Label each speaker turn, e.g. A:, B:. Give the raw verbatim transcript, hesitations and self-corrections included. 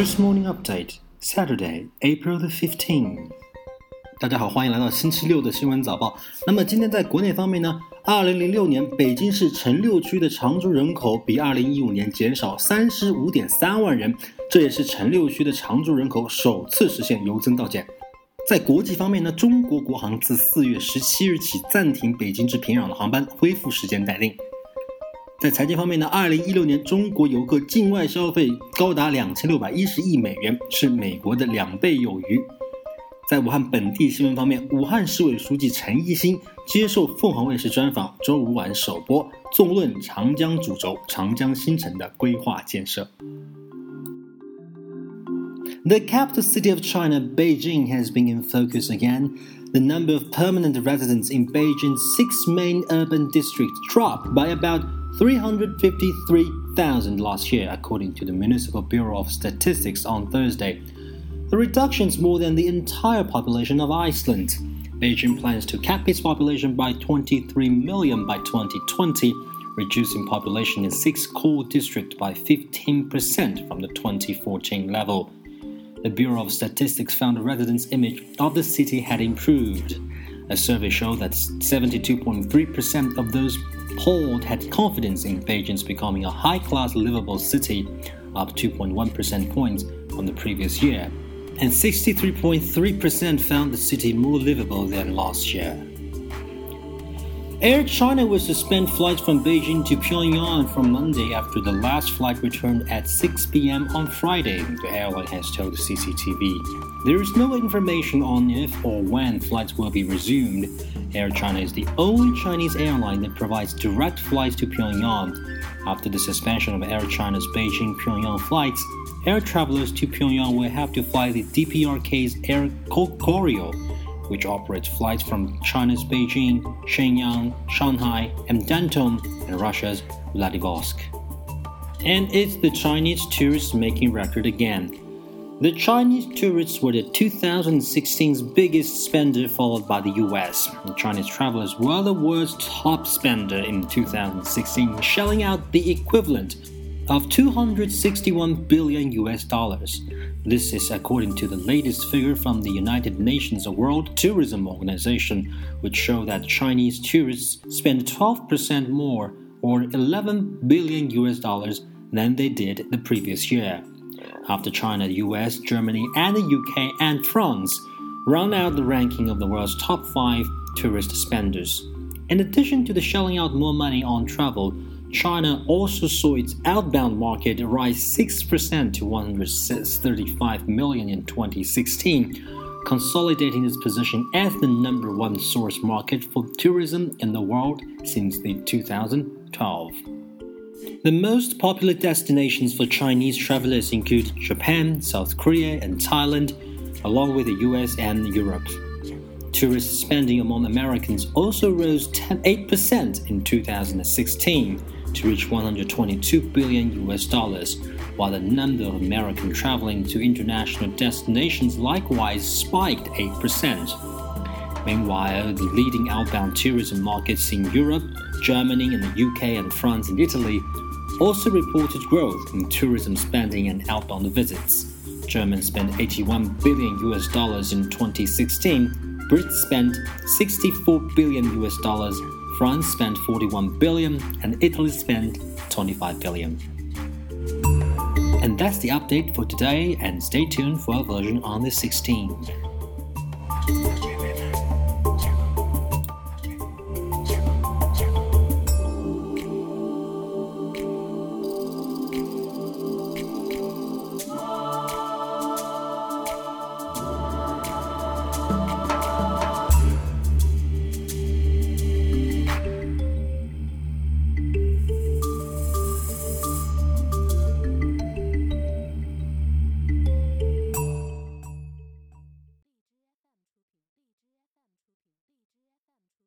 A: First Morning Update, Saturday, April the fifteenth. 大家好，欢迎来到星期六的新闻早报。那么今天在国内方面呢，二零零六年北京市城六区的常住人口比二零一五年减少 三十五点三万人，这也是城六区的常住人口首次实现由增到减。在国际方面呢，中国国航自四月十七日起暂停北京至平壤的航班，恢复时间待定。在财经方面呢，二零一六年中国游客境外消费高达两千六百一十亿美元，是美国的两倍有余。在武汉本地新闻方面，武汉市委书记陈一新接受凤凰卫视专访，周五晚首播，纵论长江主轴、长江新城的规划建设。The capital city of China, Beijing, has been in focus again. The number of permanent residents in Beijing's six main urban districts dropped by about three hundred fifty-three thousand last year, according to the Municipal Bureau of Statistics on Thursday. The reduction is more than the entire population of Iceland. Beijing plans to cap its population by twenty-three million by twenty twenty, reducing population in six core districts by fifteen percent from the twenty fourteen level. The Bureau of Statistics found the residents' image of the city had improved. A survey showed that seventy-two point three percent of those polled had confidence in Beijing's becoming a high-class livable city, up two point one percent points from the previous year, and sixty-three point three percent found the city more livable than last year. Air China will suspend flights from Beijing to Pyongyang from Monday after the last flight returned at six p.m. on Friday, the airline has told the C C T V. There is no information on if or when flights will be resumed. Air China is the only Chinese airline that provides direct flights to Pyongyang. After the suspension of Air China's Beijing-Pyongyang flights, air travelers to Pyongyang will have to fly the D P R K's Air Koryo, which operates flights from China's Beijing, Shenyang, Shanghai, and Danton, and Russia's Vladivostok. And it's the Chinese tourists making record again. The Chinese tourists were the two thousand sixteen's biggest spender, followed by the U S. The Chinese travelers were the world's top spender in two thousand sixteen, shelling out the equivalent of two hundred sixty-one billion U S dollars. This is according to the latest figure from the United Nations World Tourism Organization, which show that Chinese tourists spend twelve percent more, or eleven billion U S dollars, than they did the previous year. After China, the U S, Germany, and the U K and France round out the ranking of the world's top five tourist spenders. In addition to the shelling out more money on travel, China also saw its outbound market rise six percent to one hundred thirty-five million in twenty sixteen, consolidating its position as the number one source market for tourism in the world since the two thousand twelve. The most popular destinations for Chinese travelers include Japan, South Korea, and Thailand, along with the U S and Europe. Tourist spending among Americans also rose eight percent in two thousand sixteen to reach one hundred twenty-two billion U S dollars, while the number of Americans traveling to international destinations likewise spiked eight percent. Meanwhile, the leading outbound tourism markets in Europe, Germany, and the U K and France and Italy also reported growth in tourism spending and outbound visits. Germans spent eighty-one billion U S dollars in twenty sixteen, Brits spent sixty-four billion U S dollars, France spent forty-one billion, and Italy spent twenty-five billion. And that's the update for today, and stay tuned for our version on the sixteenth.